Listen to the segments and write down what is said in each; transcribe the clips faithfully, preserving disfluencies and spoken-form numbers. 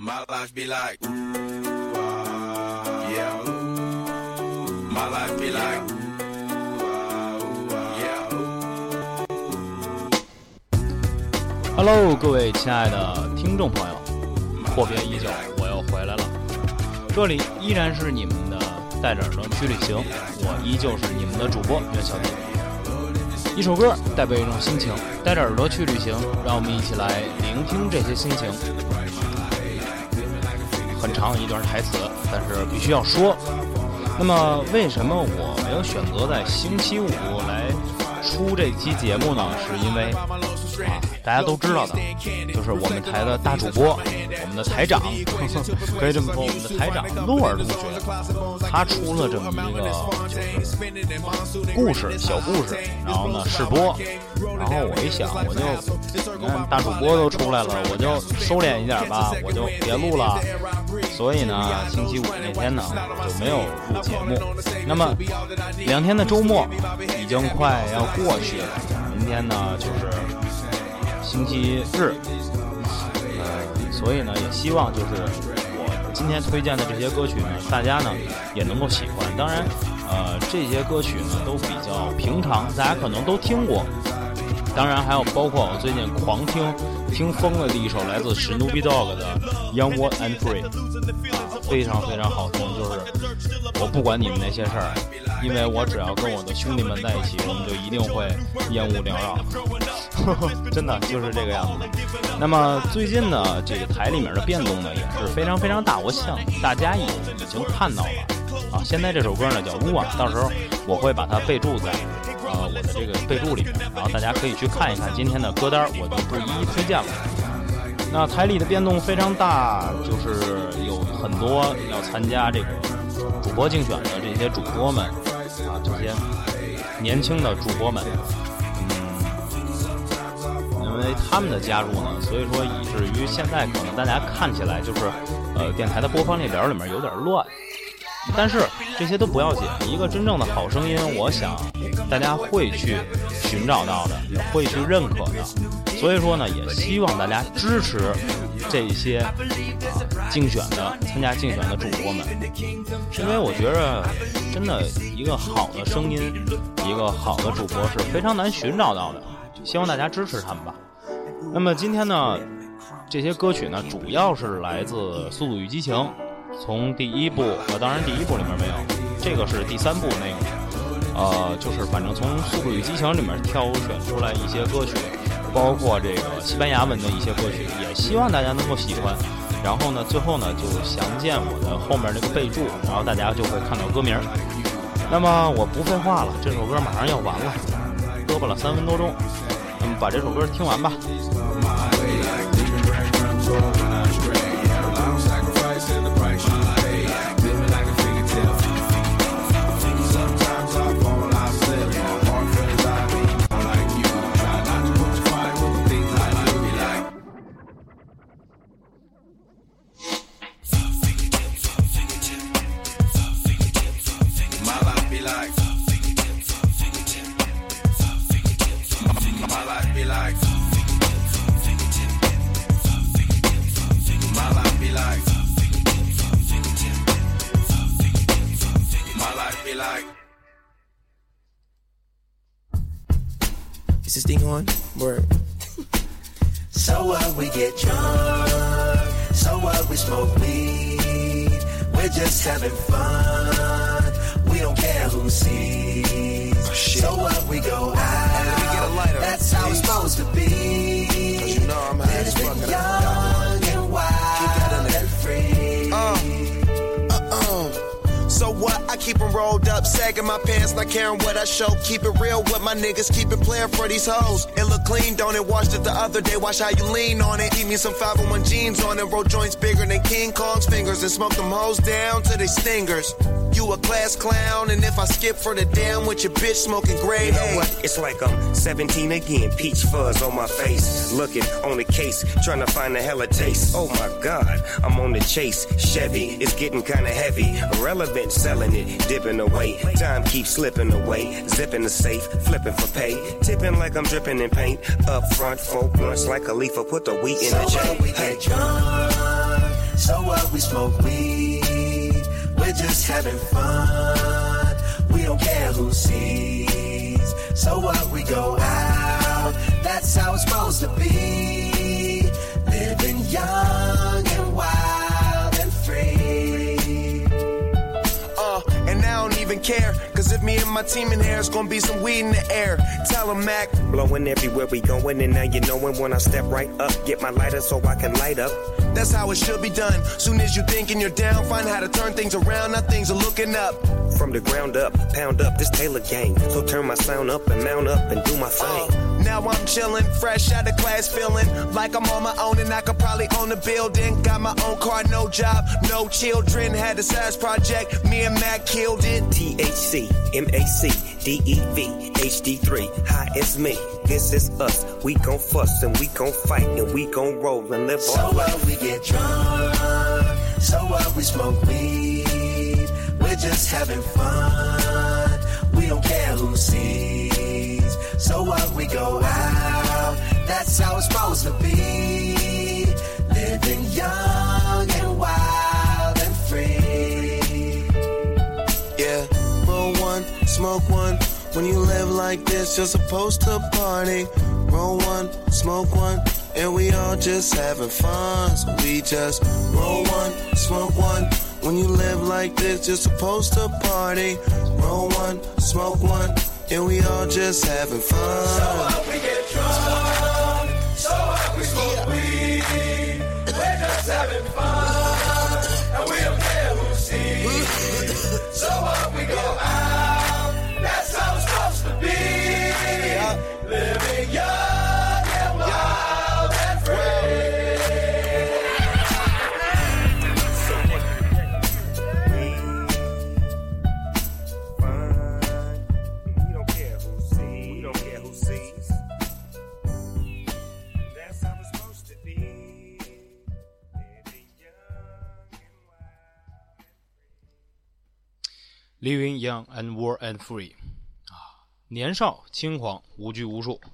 My life be like, ooh, ah, yeah, ooh. My life be like, ooh, ah, ooh, ah, yeah, ooh. Hello， 各位亲爱的听众朋友，阔别已久，我又回来了。这里依然是你们的带着耳朵去旅行，我依旧是你们的主播袁小弟。一首歌代表一种心情，带着耳朵去旅行，让我们一起来聆听这些心情。很长一段台词，但是必须要说。那么为什么我没有选择在星期五来出这期节目呢？是因为啊，大家都知道的，就是我们台的大主播，我们的台长，可以这么说，我们的台长洛尔同学，他出了这么一个就是故事小故事，然后呢试播，然后我一想，我就你看大主播都出来了，我就收敛一点吧，我就别录了。所以呢，星期五那天呢就没有录节目。那么两天的周末已经快要过去了，明天呢就是星期日，呃，所以呢也希望就是我今天推荐的这些歌曲呢，大家呢也能够喜欢。当然，呃，这些歌曲呢都比较平常，大家可能都听过。当然还有包括我最近狂听听疯了的一首来自 Snoop Dogg 的 Young Wild and Free， 啊，非常非常好听。就是我不管你们那些事儿，因为我只要跟我的兄弟们在一起，我们就一定会烟雾缭绕，真的就是这个样子的。那么最近呢，这个台里面的变动呢也是非常非常大，我想大家也已经看到了啊。现在这首歌呢叫 Move On， 到时候我会把它备注在呃我的这个备注里面，然后大家可以去看一看今天的歌单，我就不一一推荐了。那台里的变动非常大，就是有很多要参加这个主播竞选的这些主播们啊，这些年轻的主播们，嗯，因为他们的加入呢，所以说以至于现在可能大家看起来就是呃电台的播放列表里面有点乱。但是这些都不要紧，一个真正的好声音，我想大家会去寻找到的，也会去认可的。所以说呢，也希望大家支持这些啊竞选的、参加竞选的主播们，因为我觉得真的一个好的声音、一个好的主播是非常难寻找到的。希望大家支持他们吧。那么今天呢，这些歌曲呢，主要是来自《速度与激情》。从第一部，呃，当然第一部里面没有，这个是第三部那个，呃，就是反正从《速度与激情》里面挑选出来一些歌曲，包括这个西班牙文的一些歌曲，也希望大家能够喜欢。然后呢，最后呢就详见我的后面这个备注，然后大家就会看到歌名。那么我不废话了，这首歌马上要完了，胳膊了三分多钟，那么把这首歌听完吧。 Is this thing on? Word. So what, we get drunk. So what, we smoke weed. We're just having fun. We don't care who sees. Oh, so what, we go out. Hey, get a lighter. That's how it's supposed to be. Cause you know I'm high as fuck. Young and wild and free. Uh. So what? I keep them rolled up, sagging my pants, not caring what I show. Keep it real with my niggas, keep it playing for these hoes. It look clean, don't it? Washed it the other day, watch how you lean on it. Keep me some five oh one jeans on it, roll joints bigger than King Kong's fingers, and smoke them hoes down to they stingers. You a class clown, and if I skip for the damn with your bitch smoking gray. You know what? It's like I'm seventeen again, peach fuzz on my face. Looking on the case, trying to find a hella taste. Oh my God, I'm on the chase. Chevy, it's getting kinda heavy. Irrelevant, selling it, dipping away. Time keeps slipping away. Zipping the safe, flipping for pay. Tipping like I'm dripping in paint. Up front, four blunts like a leaf, put the wheat in so the J. We get drunk. So what, we smoke weed, we're just having fun. We don't care who sees. So what, we go out, that's how it's supposed to be. Living young and wild and free. Uh, and I don't even care, cause if me and my team in here, it's gonna be some weed in the air. Tell them, Mac. Blowing everywhere we going, and now you knowin' when I step right up. Get my lighter so I can light up. That's how it should be done. Soon as you thinking you're down, find how to turn things around. Now things are looking up. From the ground up, pound up this Taylor gang. So turn my sound up and mount up and do my thing. Uh, now I'm chillin', fresh out of class, feeling like I'm on my own and I could probably own a building. Got my own car, no job, no children. Had a size project, me and Mac killed it. T H C, M A C, D E V, H D three, hi, it's me. This is us. We gon' fuss and we gon' fight and we gon' roll and live so our life. So what, we get drunk. So what, we smoke weed. We're just having fun. We don't care who sees. So what, we go out. That's how it's supposed to be. Living young and wild and free. Yeah, roll one, smoke one. When you live like this, you're supposed to party. Roll one, smoke one, and we all just having fun. So we just roll one, smoke one. When you live like this, you're supposed to party. Roll one, smoke one, and we all just having fun. So what, we get drunk. So what, we smoke weed. We're just having fun, and we don't care who sees. So what, we go out. That's how it's supposed to be. Living young and wild and free. We don't care who sees. We don't care who sees. That's how it's supposed to be. Living young and wild and free. Living young and wild and free。年少轻狂无拘无束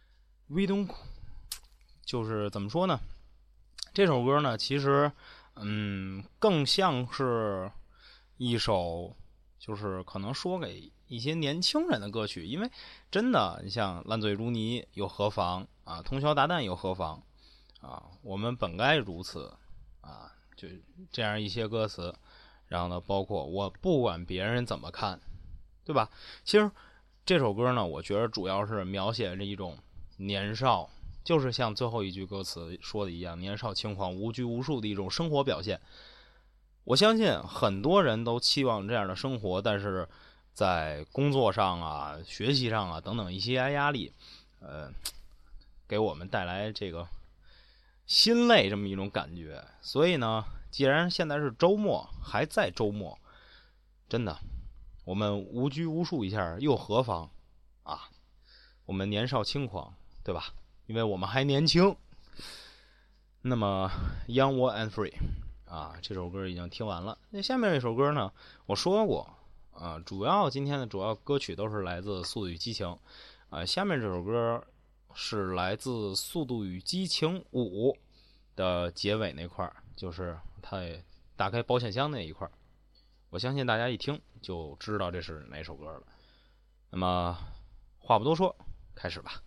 We don't 就是怎么说呢，这首歌呢其实嗯更像是一首就是可能说给一些年轻人的歌曲，因为真的你像烂醉如泥又何妨啊，通宵达旦又何妨啊，我们本该如此啊，就这样一些歌词，然后呢包括我不管别人怎么看，对吧？其实这首歌呢，我觉得主要是描写着一种年少，就是像最后一句歌词说的一样，年少轻狂、无拘无束的一种生活表现。我相信很多人都期望这样的生活，但是在工作上啊、学习上啊等等一些压力，呃，给我们带来这个心累这么一种感觉。所以呢，既然现在是周末，还在周末，真的。我们无拘无束一下又何妨啊？我们年少轻狂，对吧？因为我们还年轻。那么 Young Wild and Free 啊，这首歌已经听完了。那下面这首歌呢，我说过啊，主要今天的主要歌曲都是来自《速度与激情》啊。下面这首歌是来自《速度与激情五》的结尾那块，就是它打开保险箱那一块。我相信大家一听就知道这是哪首歌了。那么话不多说，开始吧。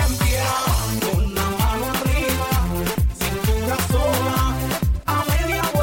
Una mano arriba, cintura sola, a media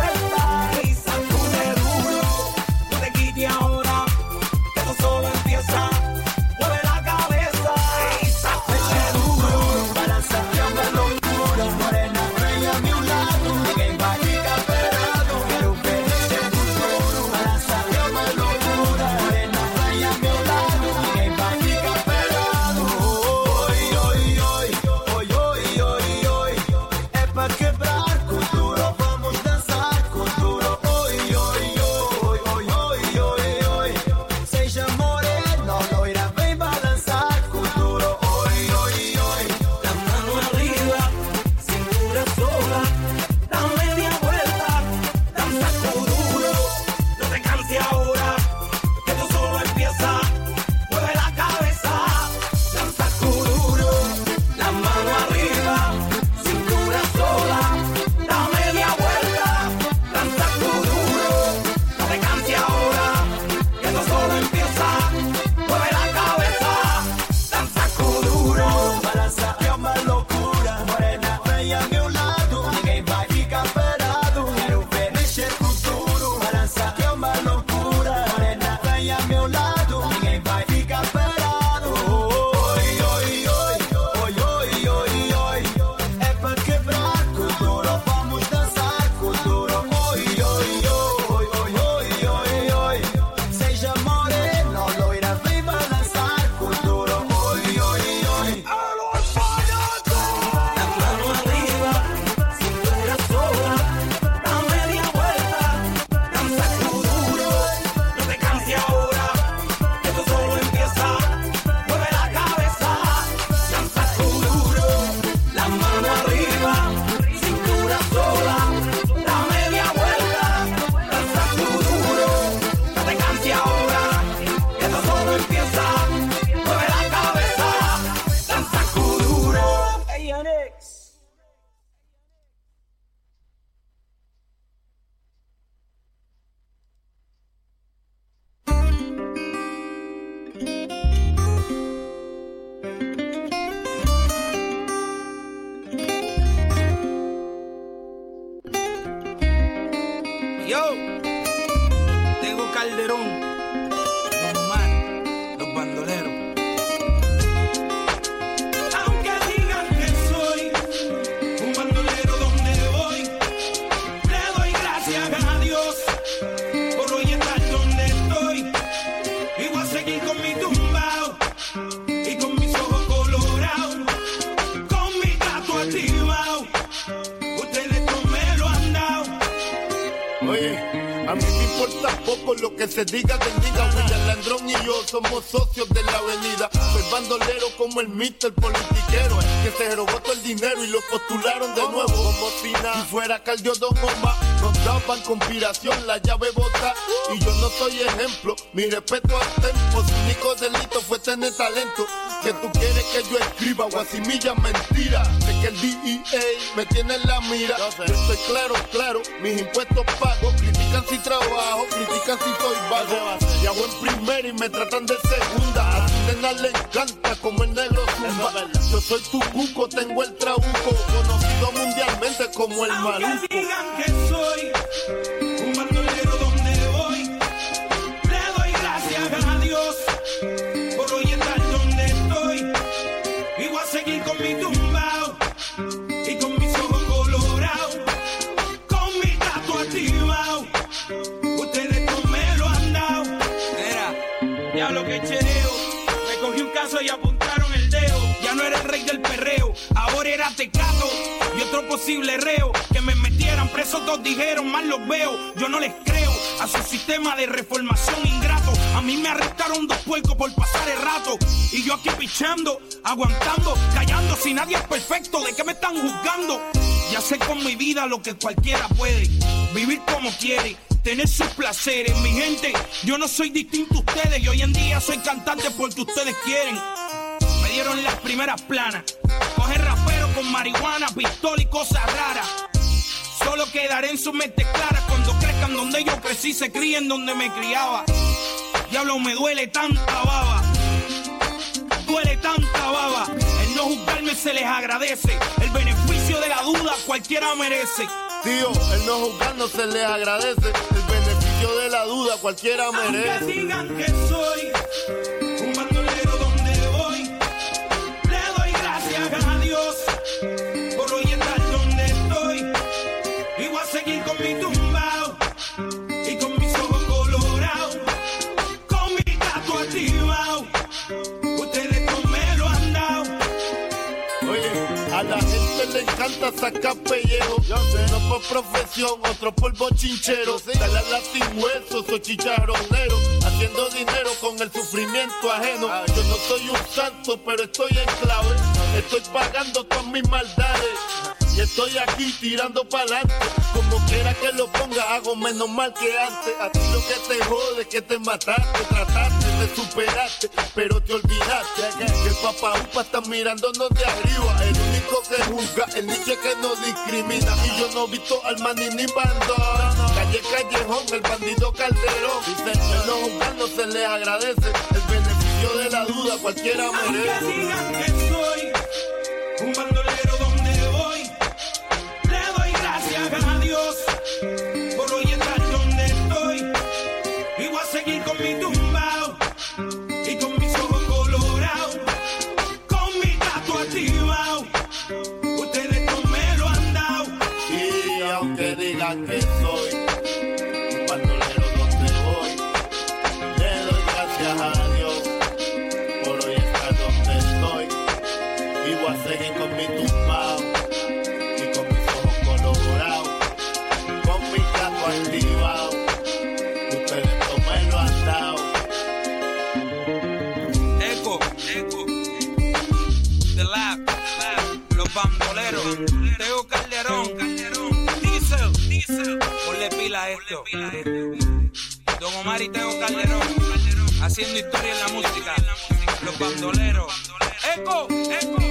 Yo, Tego Calderón, Don Omar, los bandoleros. Aunque digan que soy un bandolero donde voy, le doy gracias a Dios por hoy estar donde estoy. Y voy a seguir con mi tumbao y con mis ojos colorados, con mi gato activado. Ustedes no me lo han dado. Oye, a mí me importa poco lo que se diga del diga. William Landrón y yo somos socios de la avenida. Soy bandolero como el mister politiquero, que se robó todo el dinero y lo postularon de nuevo. Como si nada, si fuera Caldio Don Omar, nos daban conspiración, la llave bota. Y yo no soy ejemplo, mi respeto al tempo. Su único delito fue tener talento. Que tú quieres que yo escriba guasimilla mentira. Sé que el D E A me tiene en la mira. Yo estoy claro, claro, mis impuestos pago. Critican si trabajo, critican si soy vago. Y hago en primera y me tratan de segunda. A tu nena le encanta como el negro zumba. Yo soy tu cuco, tengo el trabuco, conocido mundialmente como el maluco. Aunque digan que soy un bandolero donde voy, le doy gracias a Dios por hoy estar donde estoy. Y voy a seguir con mi tumbao y con mis ojos colorados, con mi gato activado. Ustedes no me lo han dado. Era, diablo que chereo, me cogí un caso y apuntaron el dedo. Ya no era el rey del perreo, ahora era Tecato y otro posible reo. Que me metieran preso, todos dijeron, mal los veo. Yo no les creo a su sistema de reformación ingrato. A mí me arrestaron dos puercos por pasar el rato. Y yo aquí pichando, aguantando, callando. Si nadie es perfecto, ¿de qué me están juzgando? Ya sé con mi vida lo que cualquiera puede. Vivir como quiere, tener sus placeres. Mi gente, yo no soy distinto a ustedes. Y hoy en día soy cantante porque ustedes quieren. Me dieron las primeras planas. Coger rapero con marihuana, pistola y cosas raras. Solo quedaré en sus mentes claras cuando crezcan donde yo crecí, se críen donde me criaba. Diablo, me duele tanta baba, duele tanta baba. El no juzgarme se les agradece. El beneficio de la duda cualquiera merece. Tío, el no juzgarnos se les agradece. El beneficio de la duda cualquiera merece. Aunque digan que soy un bandolero donde voy, le doy gracias a Dios por hoy estar donde estoy. Y voy a seguir con mi tumbao y con mis ojos colorados, con mi gato activado. Ustedes no me lo han dado. Oye, a la gente le encanta sacar pellejo. Uno por profesión, otro por bochinchero. Dale a la sin hueso, soy chicharronero. Haciendo dinero con el sufrimiento ajeno. Yo no soy un santo, pero estoy en clave. Estoy pagando todas mis maldades. Y estoy aquí tirando pa'lante. Como quiera que lo ponga, hago menos mal que antes. A ti lo que te jode es que te mataste. Trataste de superarte, pero te olvidaste que el papá upa está mirándonos de arriba. El único que juzga, el niche que no discrimina. Y yo no he visto al maní ni bandón. Calle Callejón, el bandido Calderón. Dice, el no juzgar no se le agradece. El beneficio de la duda cualquiera merece. Aunque digan que soy un bandolero donde voy, le doy gracias a Dios por hoy estar donde estoy. Y voy a seguir con mi tumbao y con mis ojos colorados, con mi gato activado. Ustedes no me lo han dado. Y aunque digan que soy un bandolero donde voy, le doy gracias a Dios por hoy estar donde estoy. Y voy a seguir con mi tumbao y con mis ojos colorados, con mi gato activado. Ustedes no me lo han dado. Eco, eco, The Lab, los bandoleros, Tego Calderón, Diesel, Diesel, ponle pila a esto. Don Omar y Tego Calderón, haciendo historia en la música, los bandoleros. Eco, eco.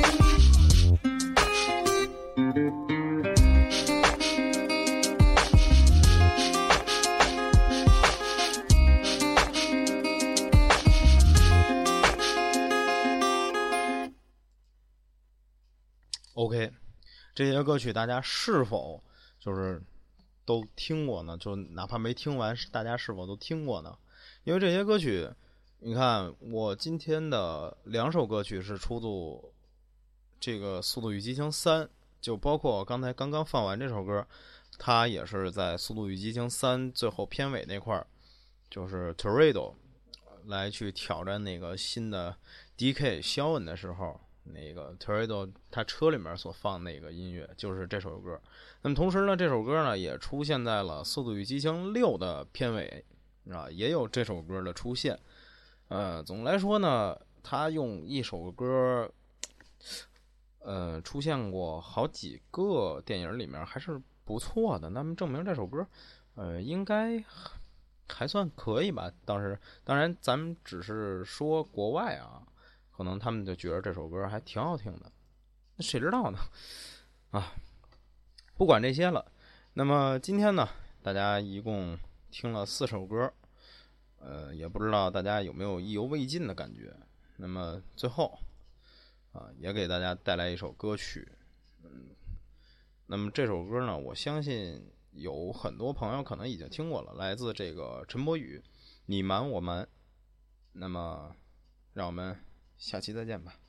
OK， 这些歌曲大家是否就是都听过呢？就哪怕没听完，大家是否都听过呢？因为这些歌曲，你看我今天的两首歌曲是出自这个《速度与激情三》，就包括刚才刚刚放完这首歌，它也是在《速度与激情三》最后片尾那块儿，就是 Toretto 来去挑战那个新的 D K 肖恩的时候，那个 Toretto 他车里面所放那个音乐就是这首歌。那么同时呢，这首歌呢也出现在了《速度与激情六》的片尾啊，也有这首歌的出现。呃，总的来说呢，他用一首歌，呃，出现过好几个电影里面，还是不错的。那么证明这首歌，呃，应该还算可以吧。当时，当然，咱们只是说国外啊，可能他们就觉得这首歌还挺好听的。那谁知道呢？啊，不管这些了。那么今天呢，大家一共听了四首歌。呃，也不知道大家有没有意犹未尽的感觉。那么最后啊，也给大家带来一首歌曲。嗯，那么这首歌呢，我相信有很多朋友可能已经听过了，来自这个陈柏宇，你瞒我瞒。那么，让我们下期再见吧。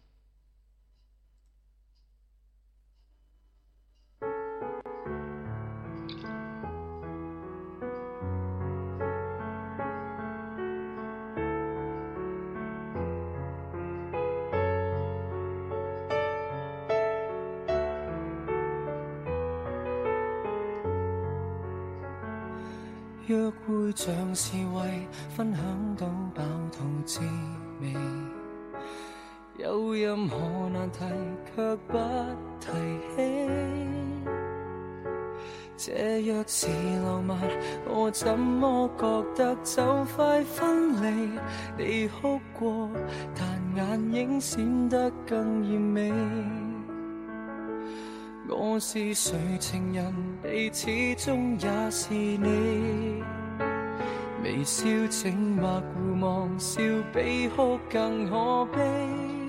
約會像是為分享到飽肚滋味，有任何難題卻不提起。這若是浪漫，我怎麼覺得就快分離？你哭過，但眼影閃得更豔美。我是誰情人，你始終也是你。微笑靜默互望，笑比哭更可悲。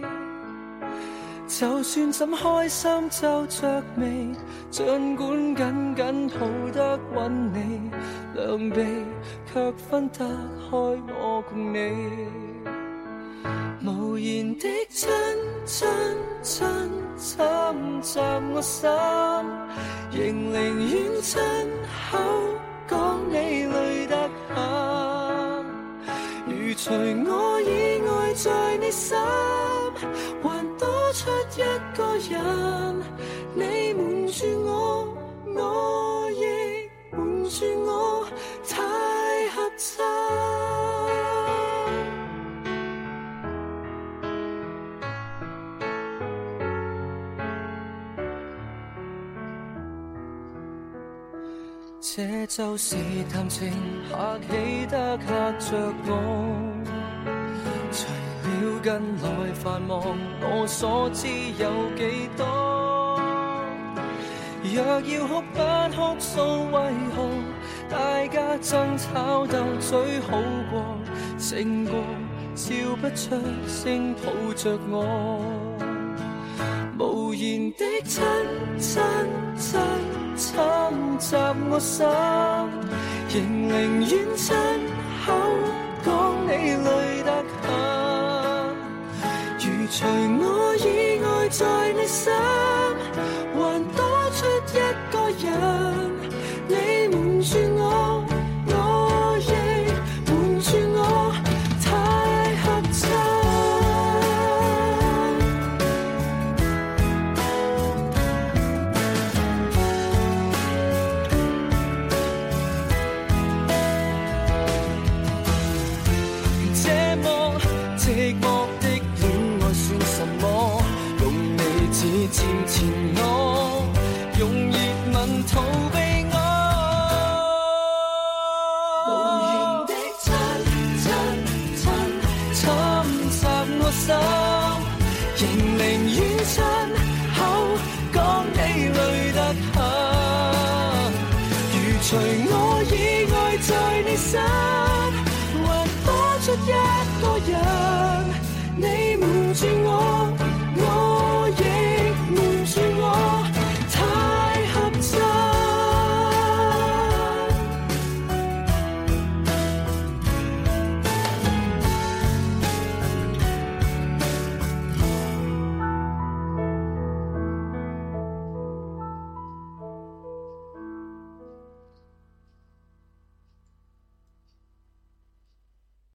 就算怎開心皺着眉，儘管緊緊抱得穩你，兩臂卻分得開我共你。無言的親親親侵襲我心，仍寧願親口講你累得很。如除我以外在你心，還多出一個人，你瞞住我，我亦瞞住我，太合襯。這就是談情客氣得嚇着我，除了近來繁忙，我所知有幾多？若要哭不哭訴，為何大家爭吵鬥嘴好過，勝過笑不出聲抱着我，無言的親親親侵襲我心，仍寧願親口講你累得很。如除我以外在你心，還多出一個人，你瞞住我，我亦瞞住我，太合襯。寂寞的戀愛算什麼？用你指尖纏我，用熱吻逃避我。無言的親親親侵襲我心，仍寧願親口講你累得很。如除我